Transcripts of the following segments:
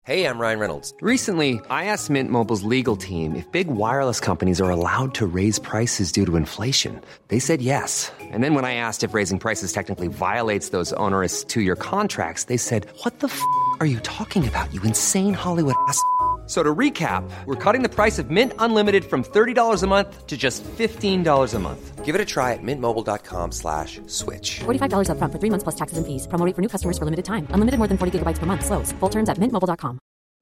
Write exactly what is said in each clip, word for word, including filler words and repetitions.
Hey, I'm Ryan Reynolds. Recently, I asked Mint Mobile's legal team if big wireless companies are allowed to raise prices due to inflation. They said yes. And then when I asked if raising prices technically violates those onerous two-year contracts, they said, what the f*** are you talking about, you insane Hollywood ass f- So to recap, we're cutting the price of Mint Unlimited from thirty dollars a month to just fifteen dollars a month. Give it a try at mintmobile.com slash switch. forty-five dollars up front for three months plus taxes and fees. Promo rate for new customers for limited time. Unlimited more than forty gigabytes per month. Slows full terms at mint mobile dot com.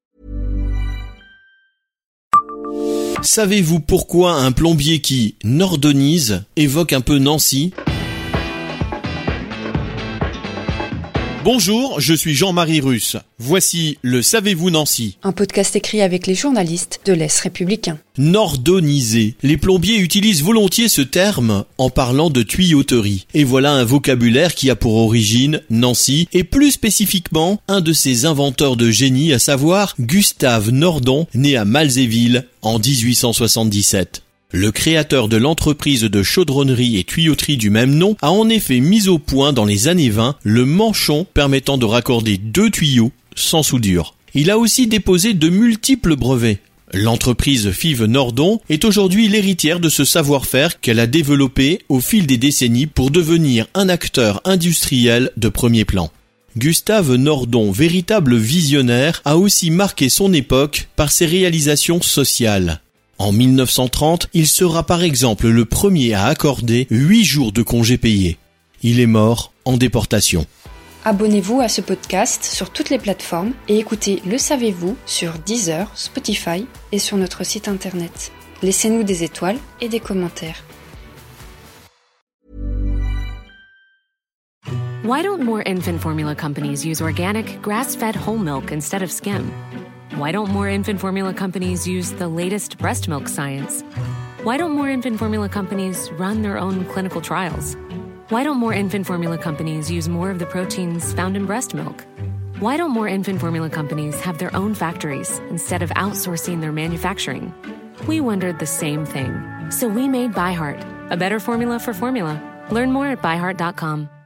Savez-vous pourquoi un plombier qui nordonise évoque un peu Nancy ? Bonjour, je suis Jean-Marie Russe. Voici le Savez-vous Nancy ? Un podcast écrit avec les journalistes de l'Est républicain. Nordoniser. Les plombiers utilisent volontiers ce terme en parlant de tuyauterie. Et voilà un vocabulaire qui a pour origine Nancy et plus spécifiquement un de ses inventeurs de génie, à savoir Gustave Nordon, né à Malzéville en dix-huit cent soixante-dix-sept. Le créateur de l'entreprise de chaudronnerie et tuyauterie du même nom a en effet mis au point dans les années vingt le manchon permettant de raccorder deux tuyaux sans soudure. Il a aussi déposé de multiples brevets. L'entreprise Fives Nordon est aujourd'hui l'héritière de ce savoir-faire qu'elle a développé au fil des décennies pour devenir un acteur industriel de premier plan. Gustave Nordon, véritable visionnaire, a aussi marqué son époque par ses réalisations sociales. En mille neuf cent trente, il sera par exemple le premier à accorder huit jours de congés payés. Il est mort en déportation. Abonnez-vous à ce podcast sur toutes les plateformes et écoutez Le Savez-vous sur Deezer, Spotify et sur notre site internet. Laissez-nous des étoiles et des commentaires. Why don't more infant formula companies use organic, grass-fed whole milk instead of skim? Why don't more infant formula companies use the latest breast milk science? Why don't more infant formula companies run their own clinical trials? Why don't more infant formula companies use more of the proteins found in breast milk? Why don't more infant formula companies have their own factories instead of outsourcing their manufacturing? We wondered the same thing. So we made ByHeart, a better formula for formula. Learn more at by heart dot com.